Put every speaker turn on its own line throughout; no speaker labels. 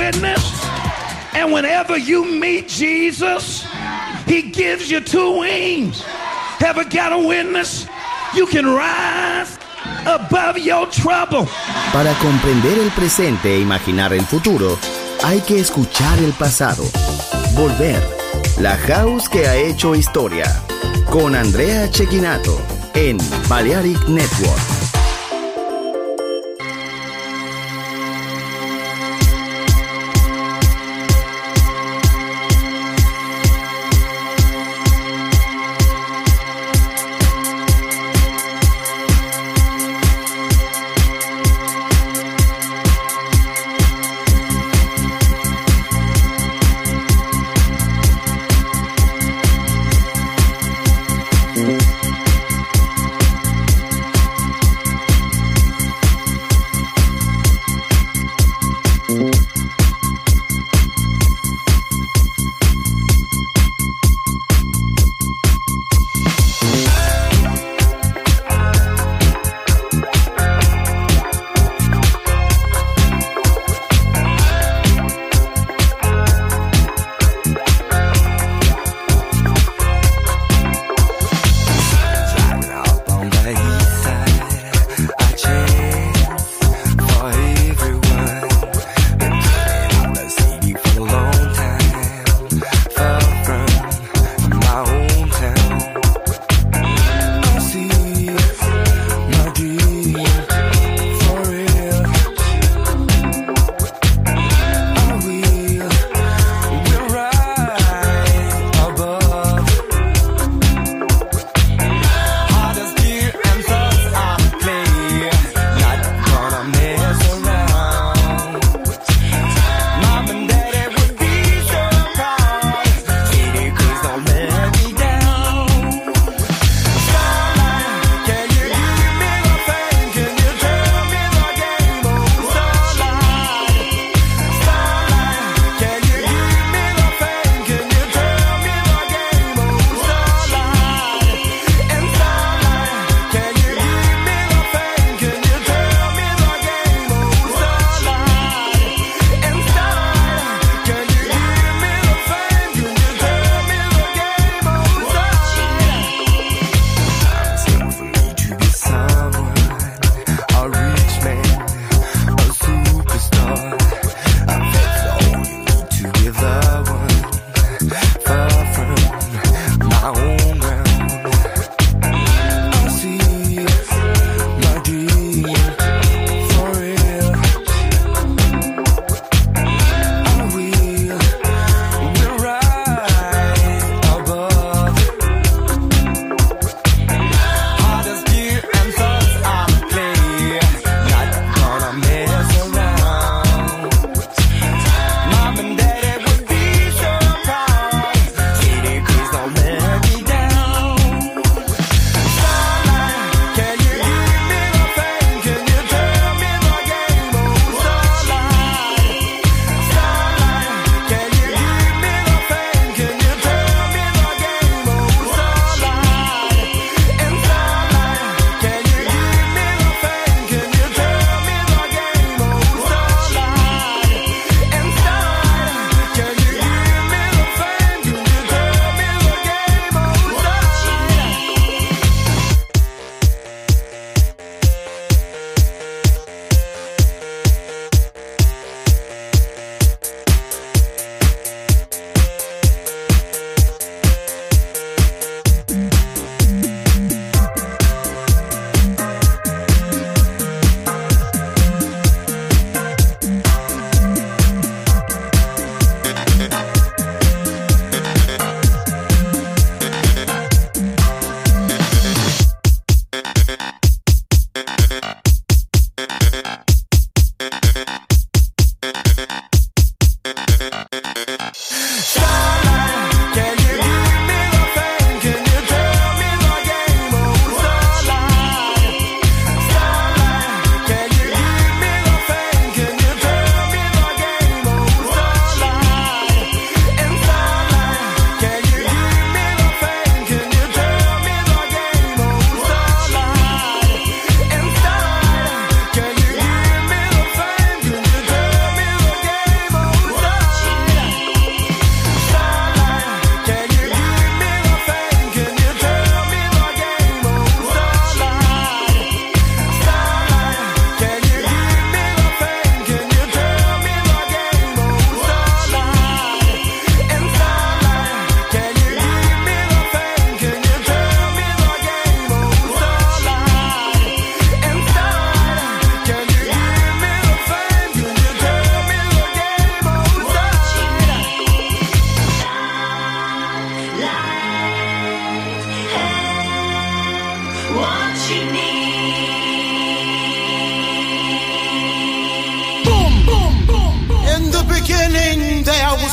witness. And whenever you meet Jesus, he gives you two wings. Ever got a witness? You can rise above your trouble.
Para comprender el presente e imaginar el futuro, hay que escuchar el pasado. Volver. La House que ha hecho historia. Con Andrea Cecchinato en Balearic Network.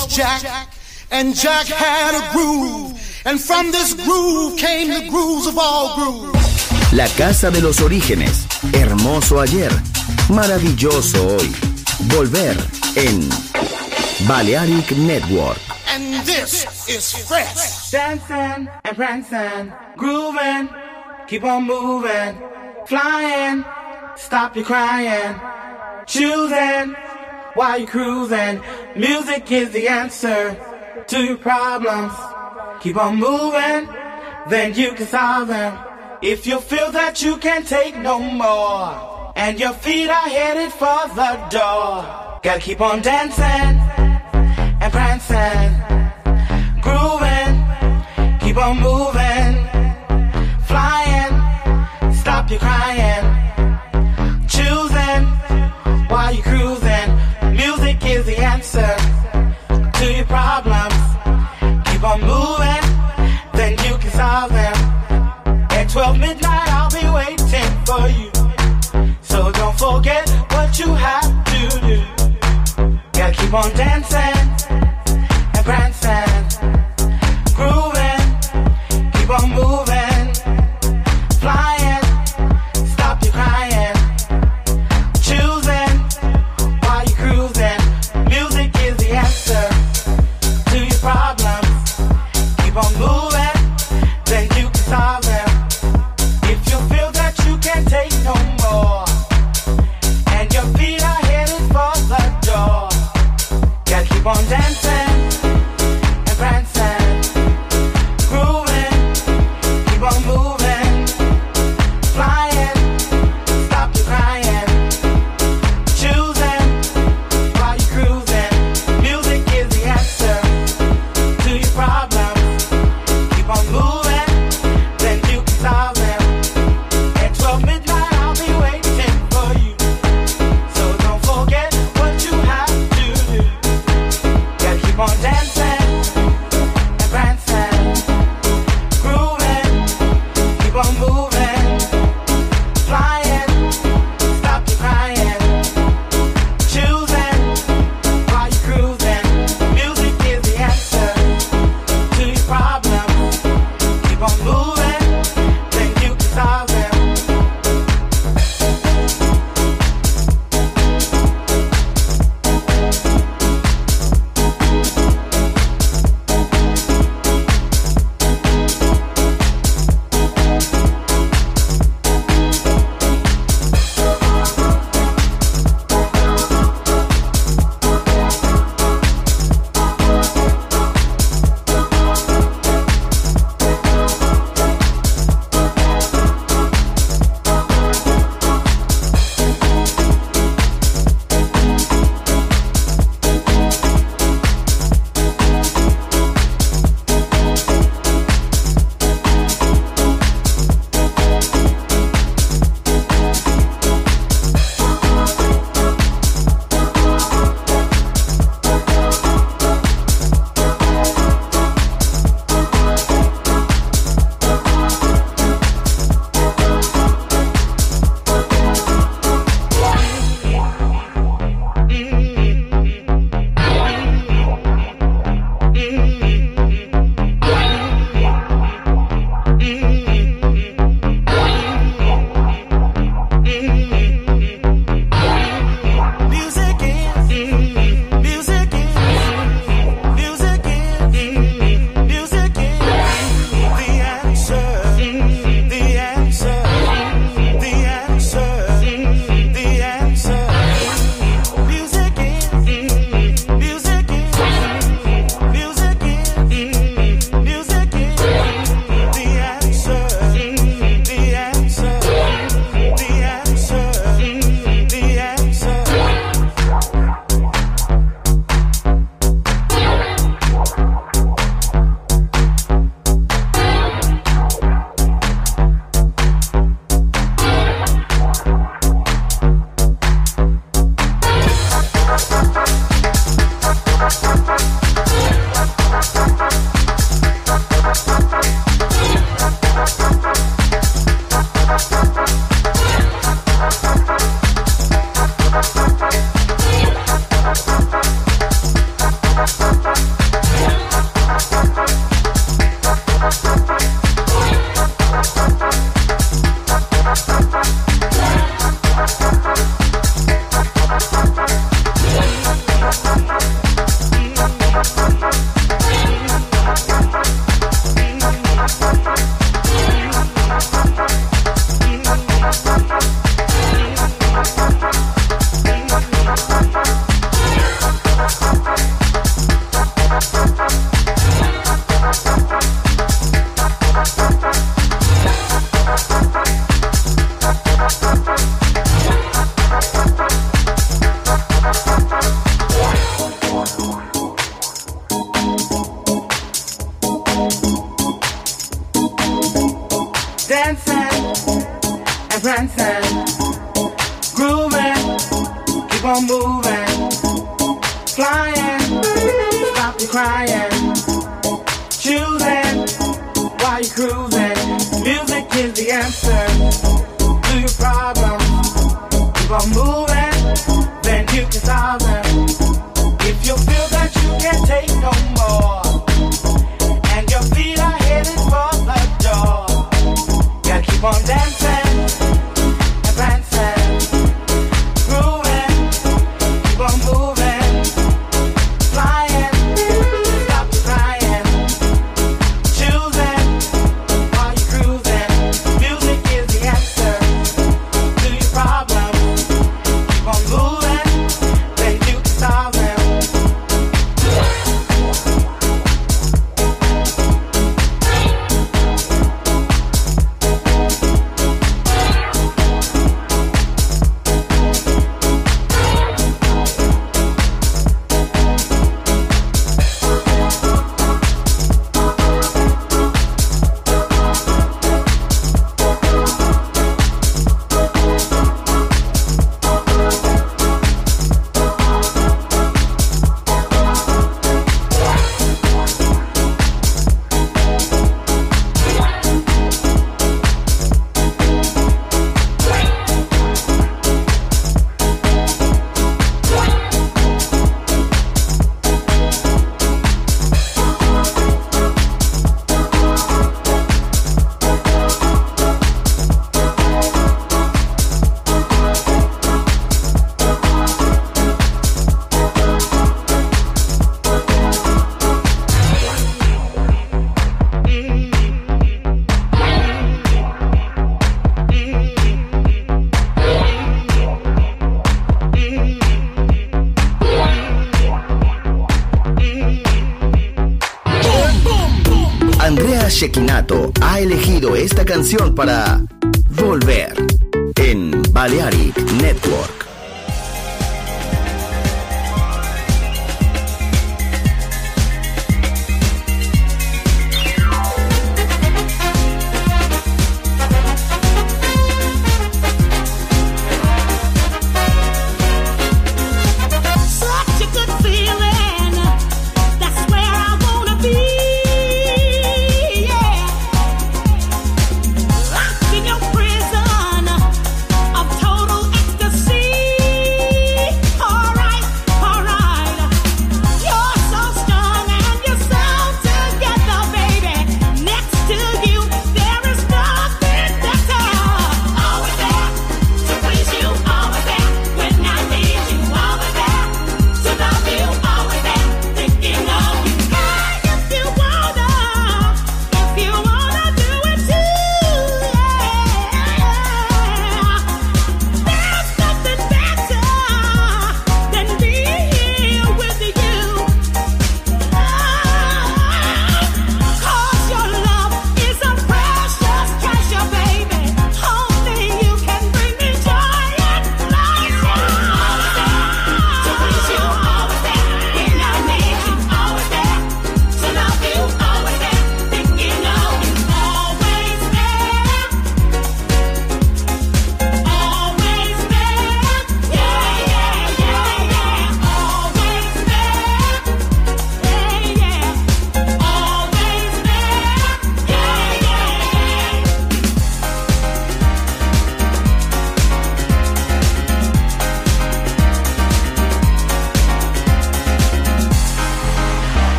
was Jack, and Jack had a groove, and from this groove came the grooves of all grooves.
La casa de los orígenes, hermoso ayer, maravilloso hoy. Volver en Balearic Network.
And this is fresh.
Dancing and prancing, grooving, keep on moving, flying, stop your crying, choosing while you're cruising. Music is the answer to your problems. Keep on moving, then you can solve them. If you feel that you can't take no more, and your feet are headed for the door, gotta keep on dancing and prancing, grooving, keep on moving, flying, stop your crying, choosing while you're cruising. Music is the answer to your problems. Keep on moving, then you can solve them. At 12 midnight I'll be waiting for you, so don't forget what you have to do. Gotta keep on dancing and prancing, grooving, keep on moving, flying, stop your crying, choosing while you're cruising. Music is the answer to your problems. Keep on moving, then you can solve them. If you feel that you can't take no more, and your feet are headed for the door, gotta keep on and prancing, grooving, keep on moving, flying, stop your crying, choosing while you're cruising. Music is the answer to your problems. Keep on moving, then you can solve them. If you feel that you can't take no more, and your feet are headed for the door, gotta keep on dancing and prancing, grooving, keep on moving, flying, stop the crying, choosing while you're cruising. Music is the answer to your problems. Keep on moving, then you can solve them.
Andrea Cecchinato ha elegido esta canción para Volver en Balearic Network.
Such a good feeling, that's where I wanna be, yeah. Locked in your prison of total ecstasy.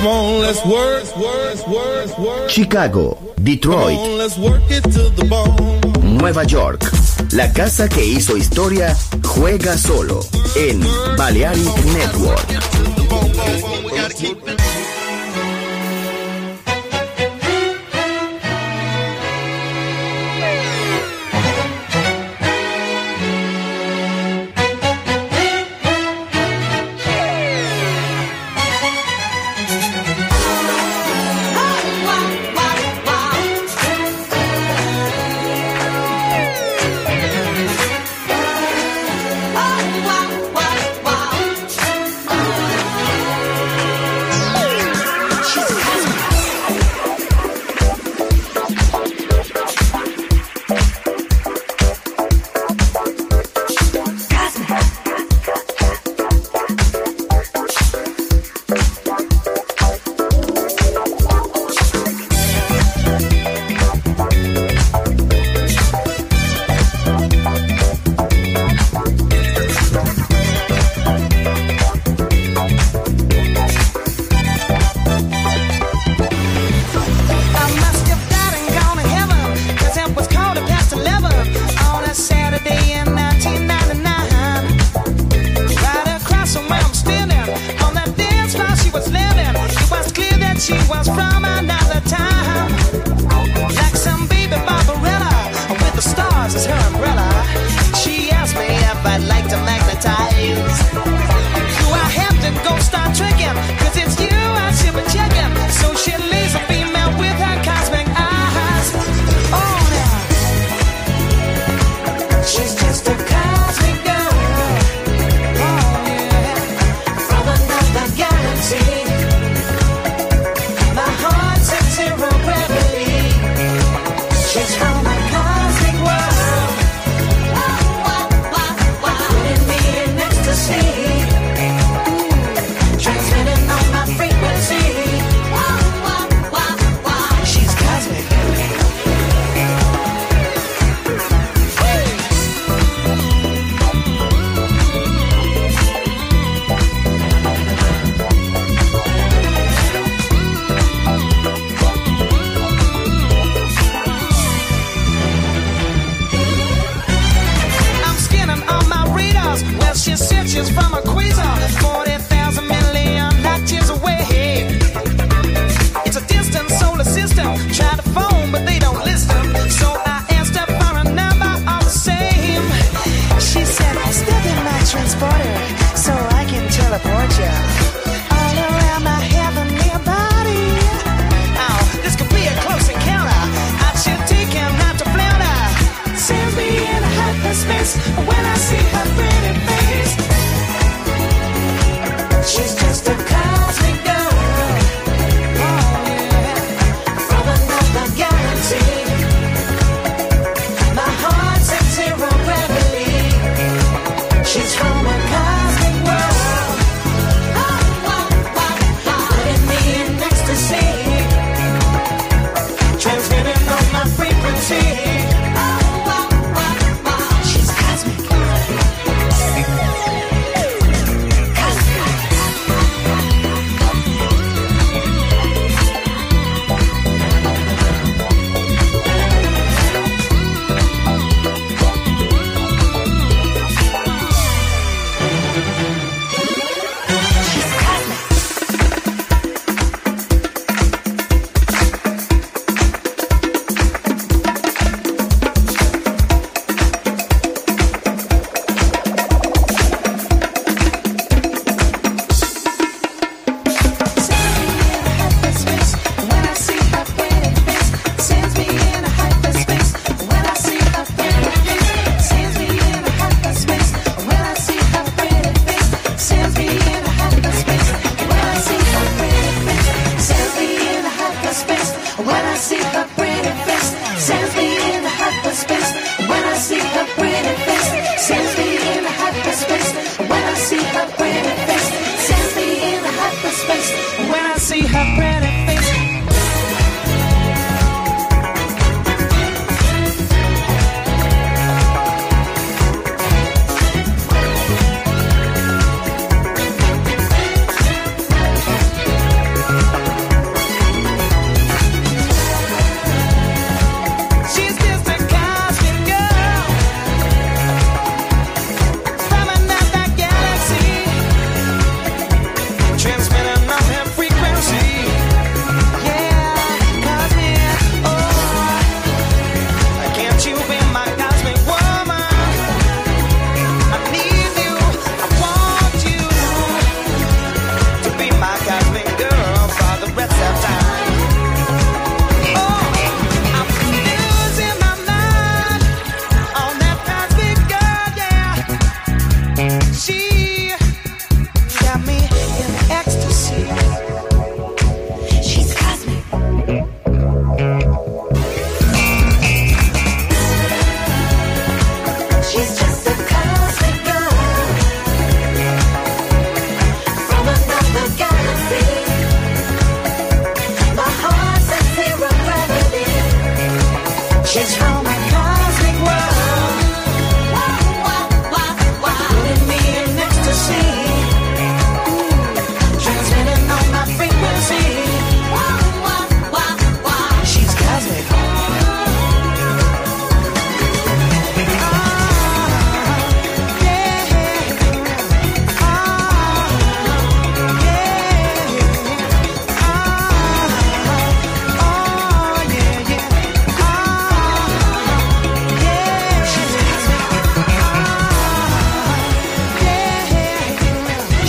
Come on, let's work.
Chicago, Detroit,
Come on, let's work it to the bone.
Nueva York. La casa que hizo historia juega solo en Balearic Network.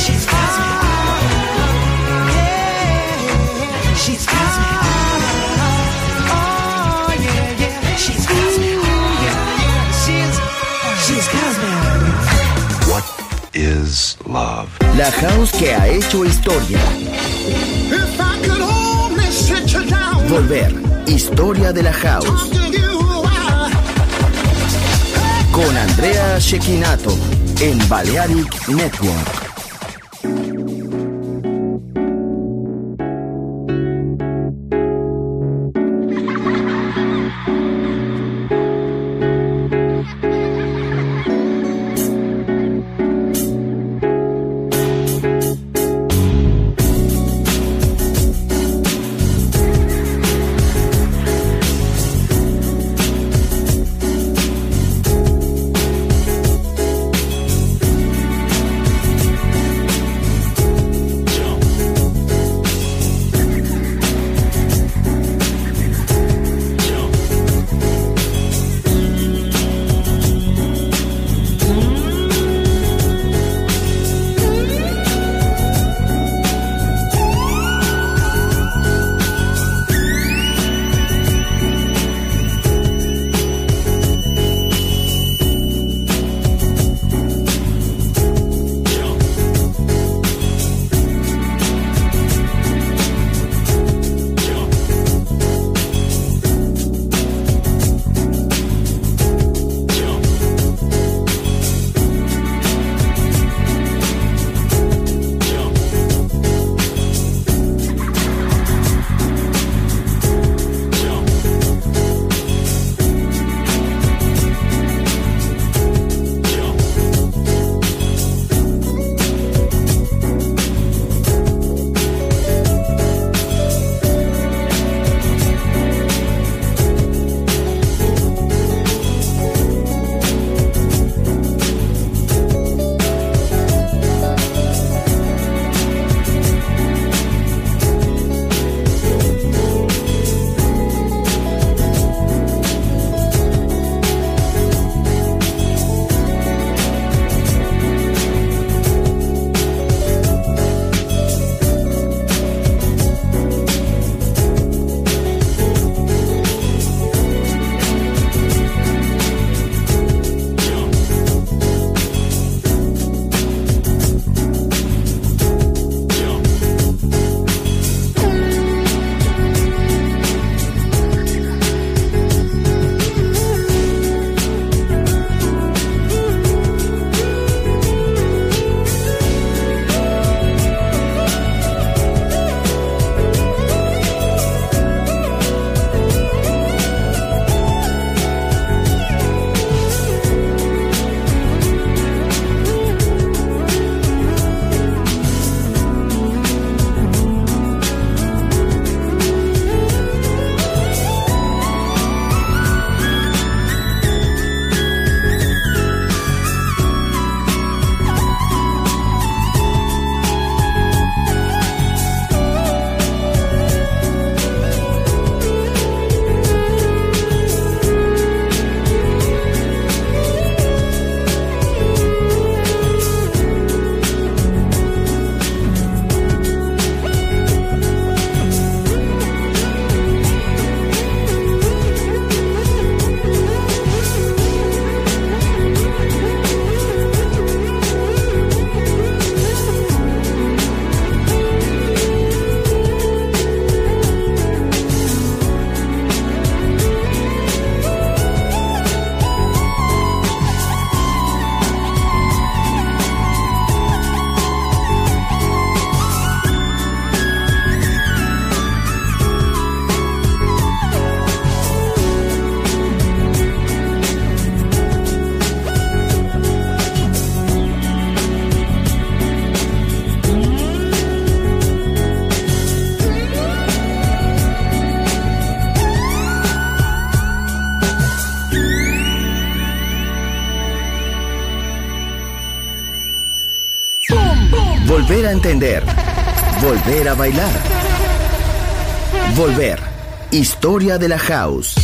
She's cosmic. She's cosmic. Oh yeah, yeah. She's cosmic. She's cosmic.
What is love?
La house que ha hecho historia.
If I could only sit you down.
Volver. Historia de la house.
Talking you out.
Con Andrea Cecchinato en Balearic Network. Volver a entender. Volver a bailar. Volver. Historia de la house.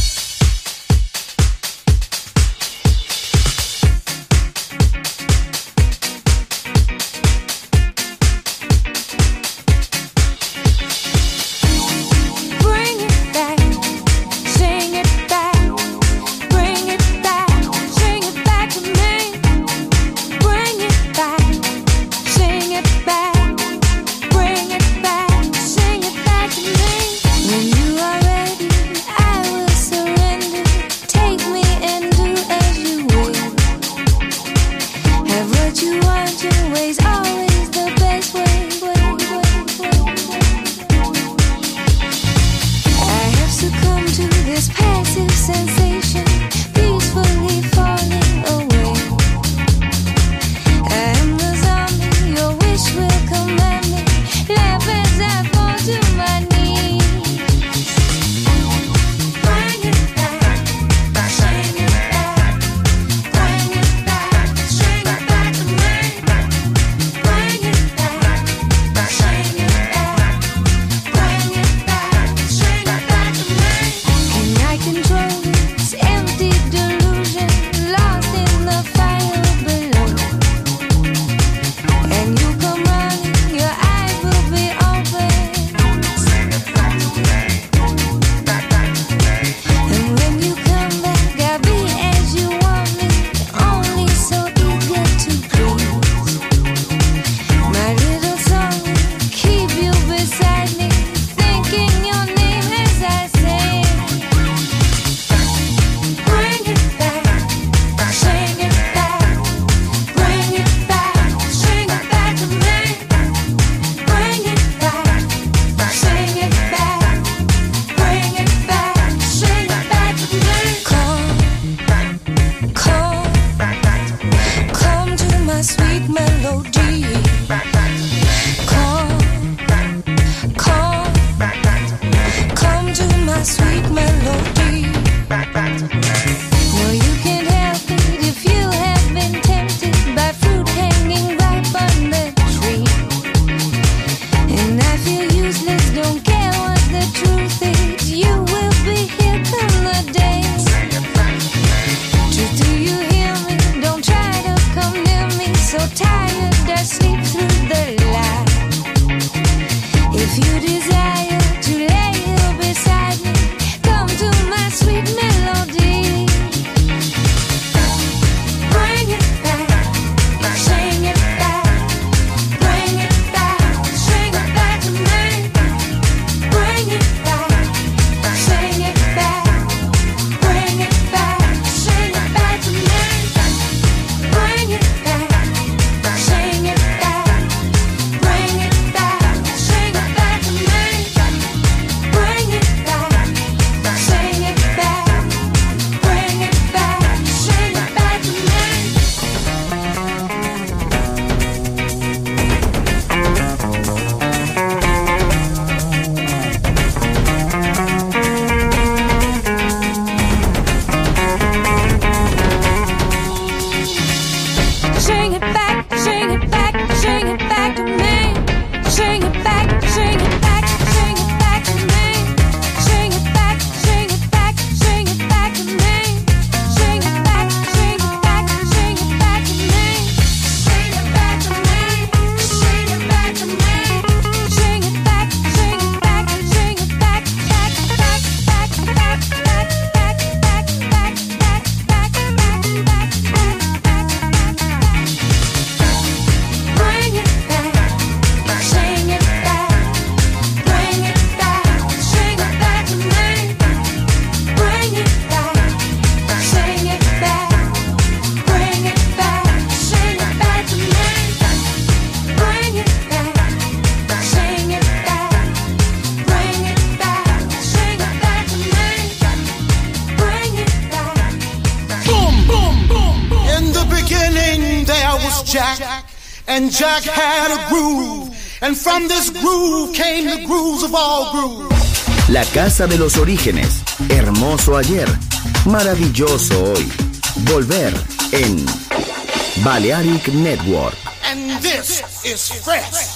and Jack had a groove, and from this groove came the grooves of all grooves.
La casa de los orígenes, hermoso ayer, maravilloso hoy. Volver en Balearic Network.
And this is fresh.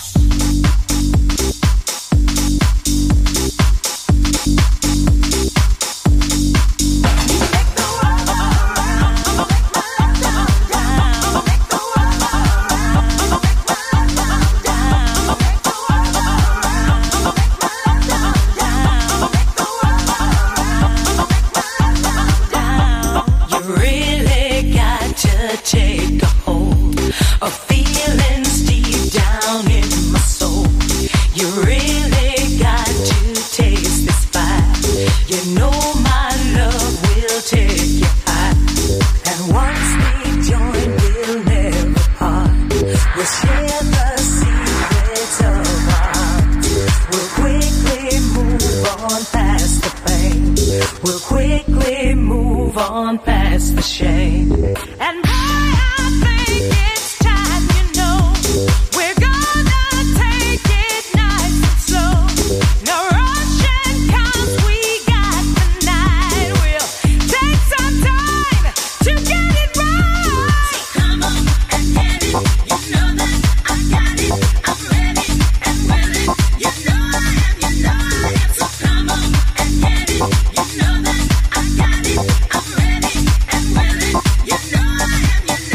Take a hold of feelings deep down in my soul. You really got to taste this fire. You know my love will take you high. And once we join, we'll never part. We'll share the secrets of our hearts. We'll quickly move on past the pain. We'll quickly move on past the shame. And it's time, you know, we're gonna take it nice and slow. No rushing 'cause we got the night. We'll take some time to get it right. So come on and get it. You know that I got it. I'm ready and willing. You know I am. So come on and get it. You know that I got it. I'm ready and willing. You know I am.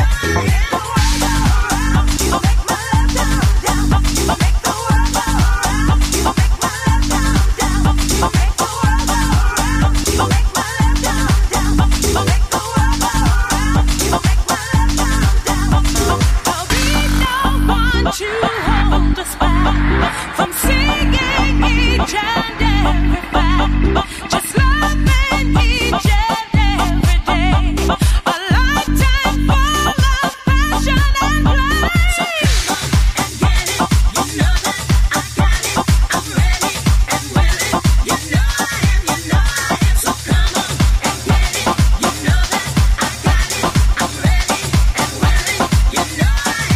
To hold us back from singing each and every fact, just loving each and every day, a lifetime full of passion and play. So come on and get it, you know that I got it, I'm ready and willing, you know I am, so come on and get it, you know that I got it, I'm ready and willing, you know I am.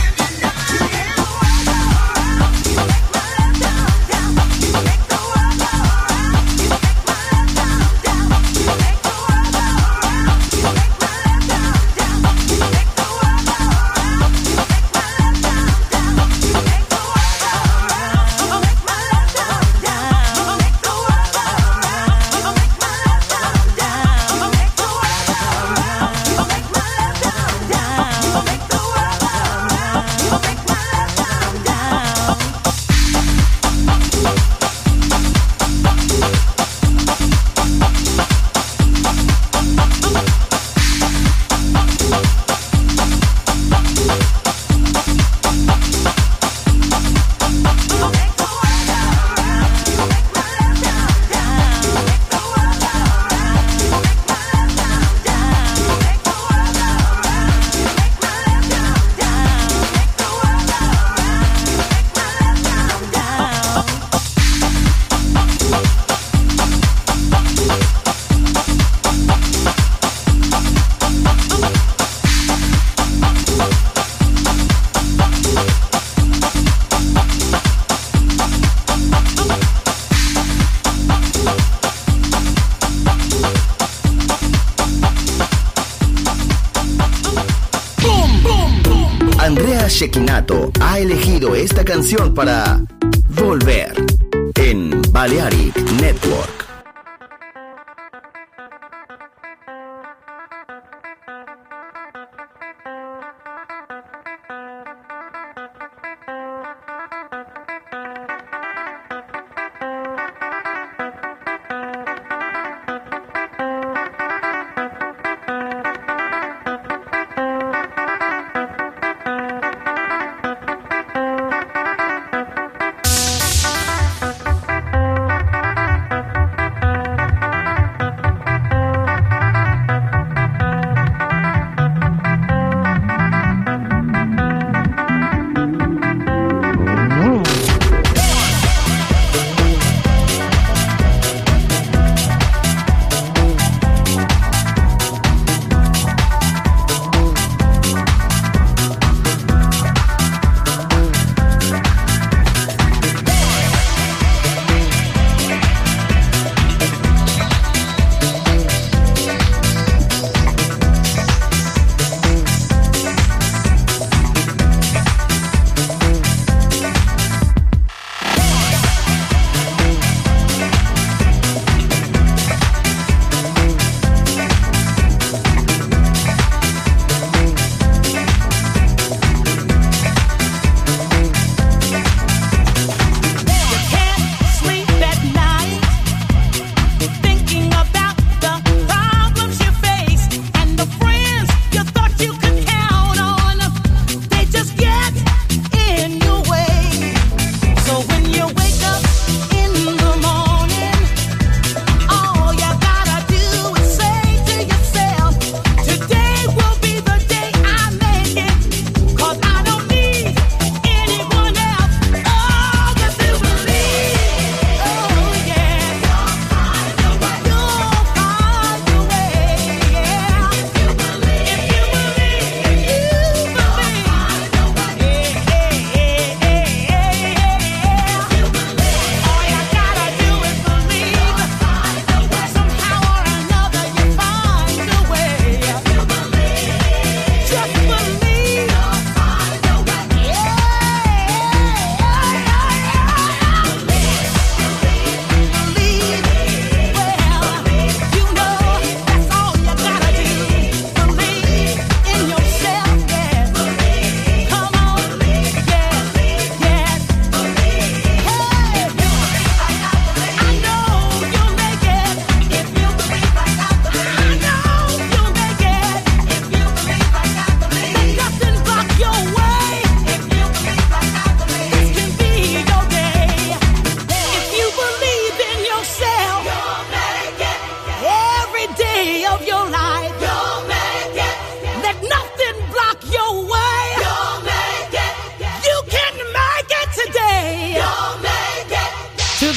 Andrea Cecchinato ha elegido esta canción para Volver en Balearic Network.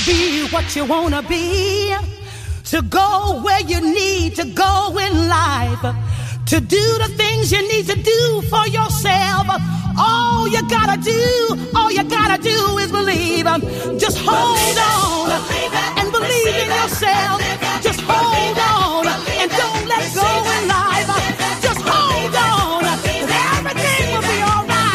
be what you wanna be, to go where you need to go in life, to do the things you need to do for yourself. All you gotta do is believe. Just hold on and believe in yourself. Just hold on and don't let go in life. Just hold on, and everything will be all right.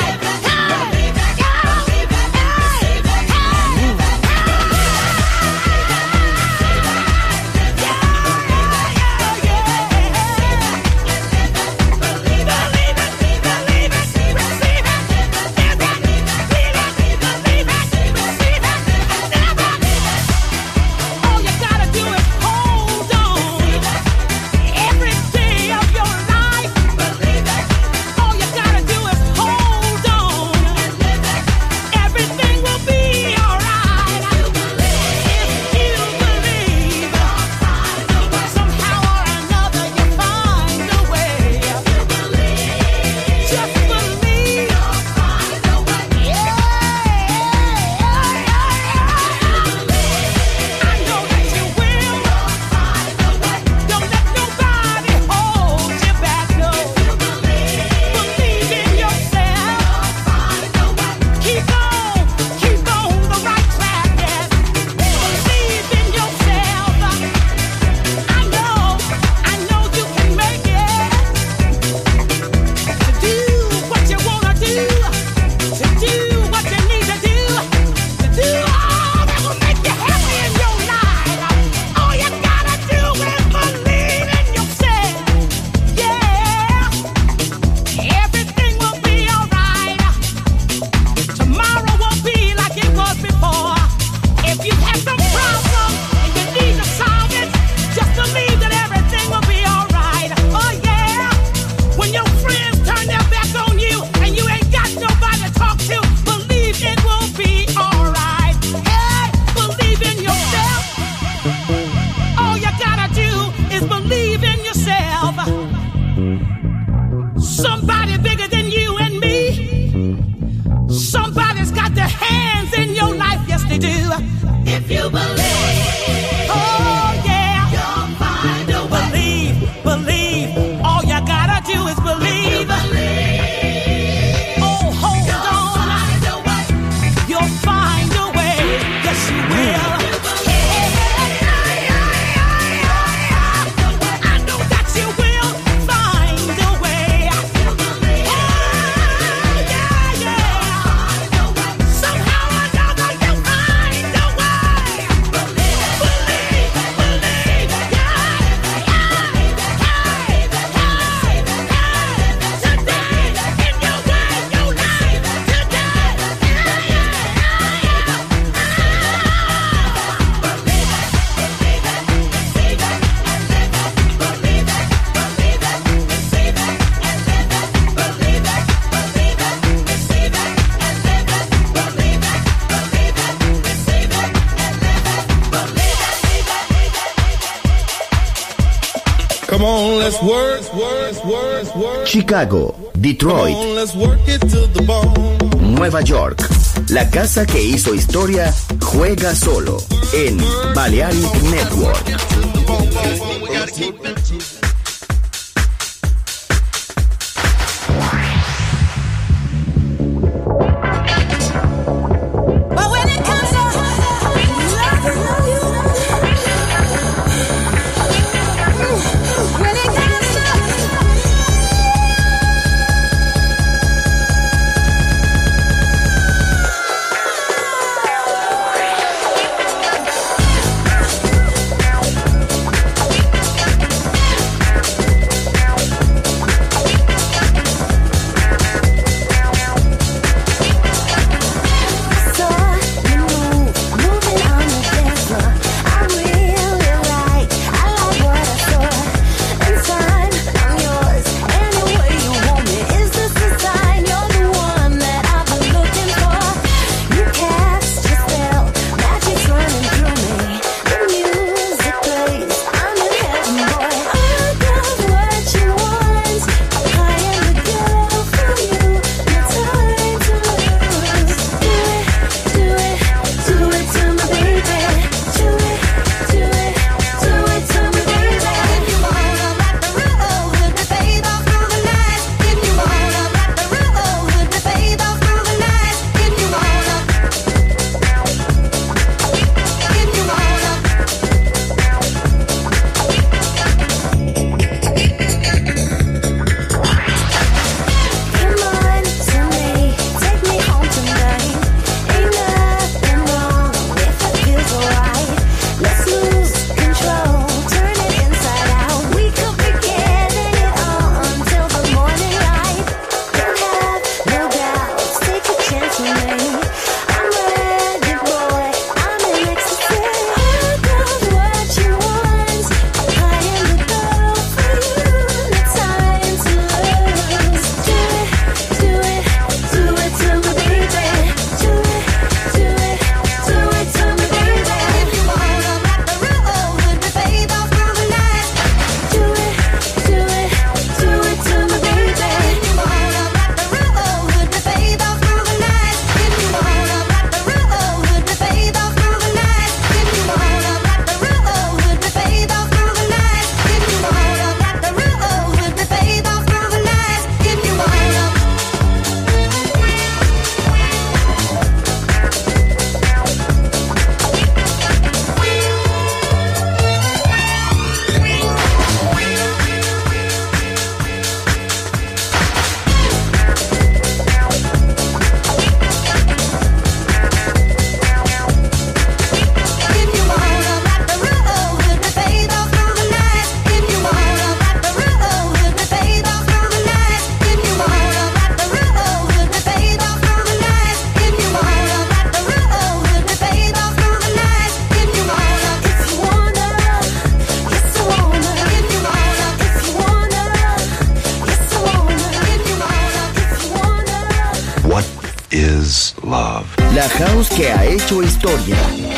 Chicago, Detroit, Nueva York. La casa que hizo historia juega solo en Balearic Network. La house que ha hecho historia.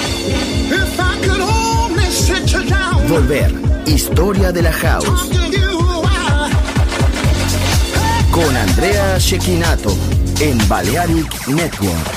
Volver, historia de la house. Con Andrea Cecchinato en Balearic Network.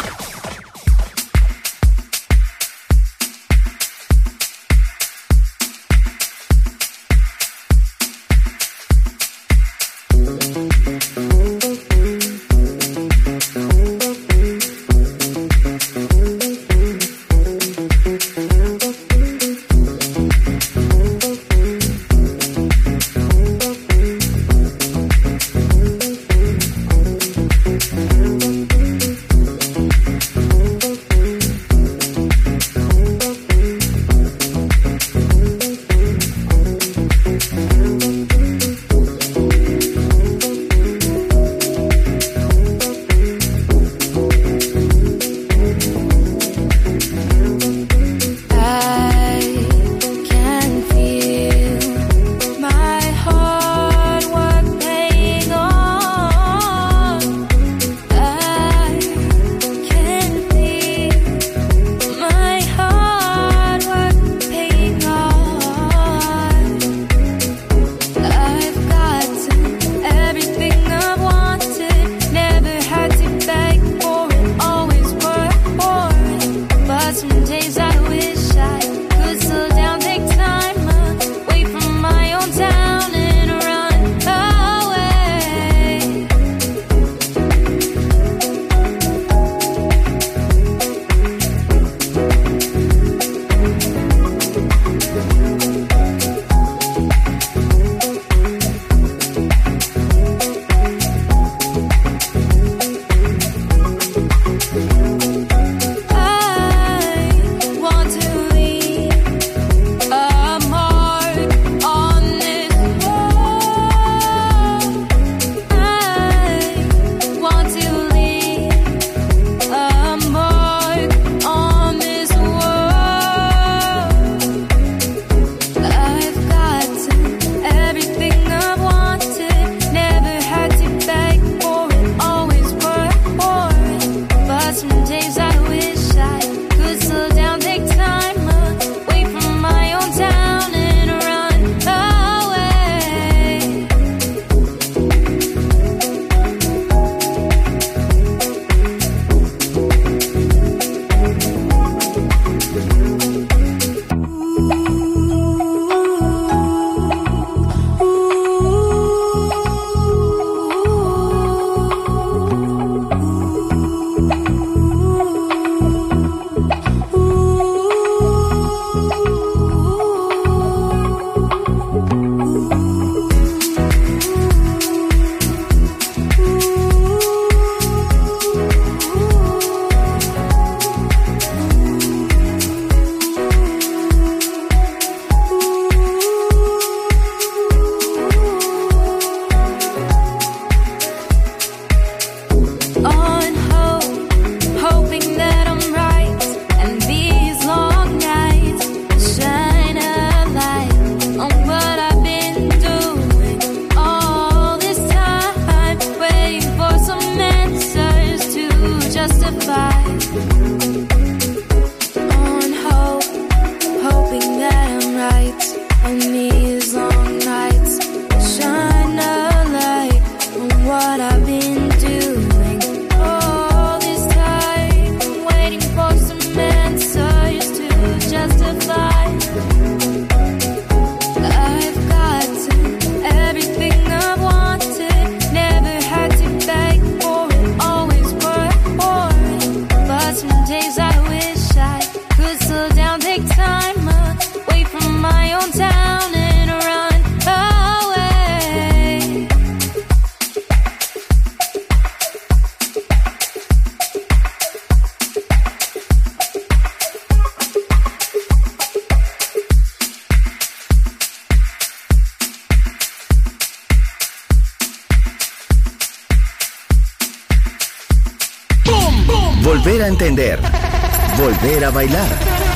Volver a entender. Volver a bailar.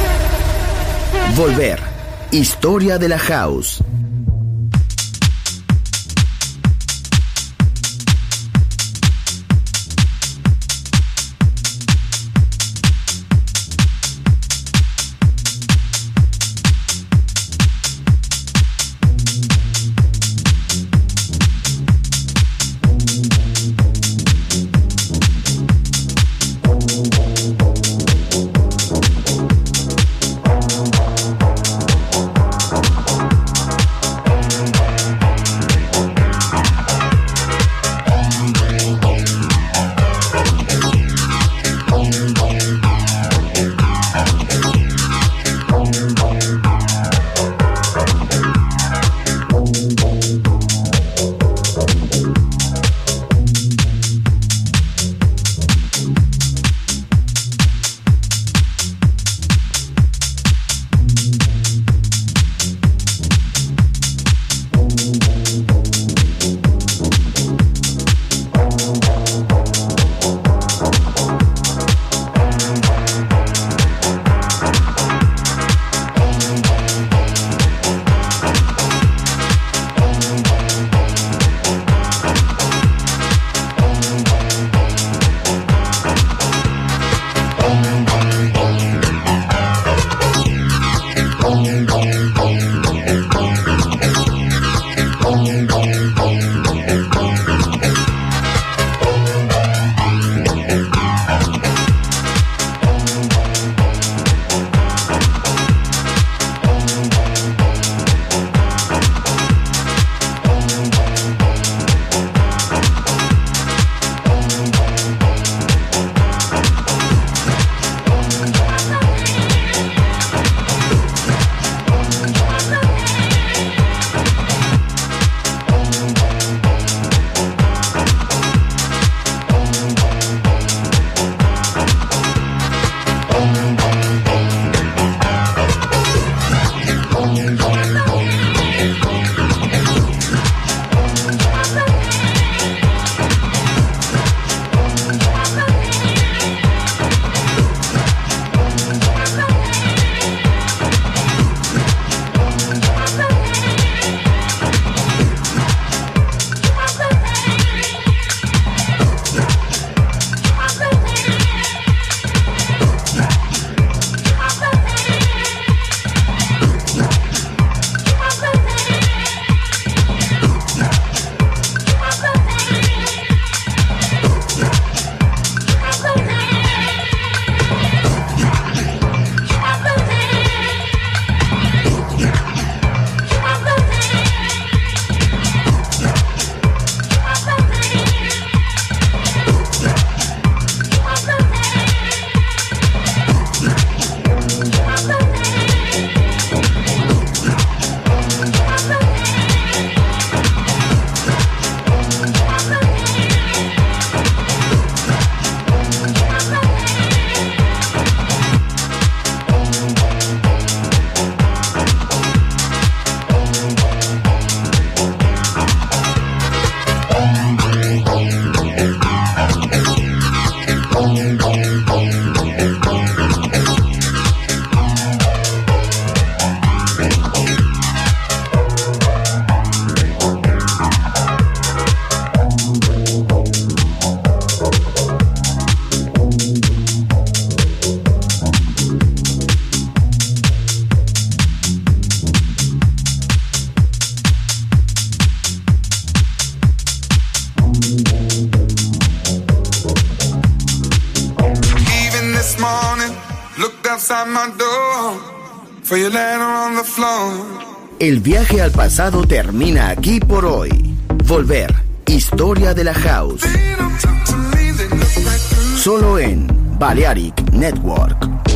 Volver. Historia de la house.
outside my door, for you laying on the floor.
El viaje al pasado termina aquí por hoy. Volver, historia de la house. Solo en Balearic Network.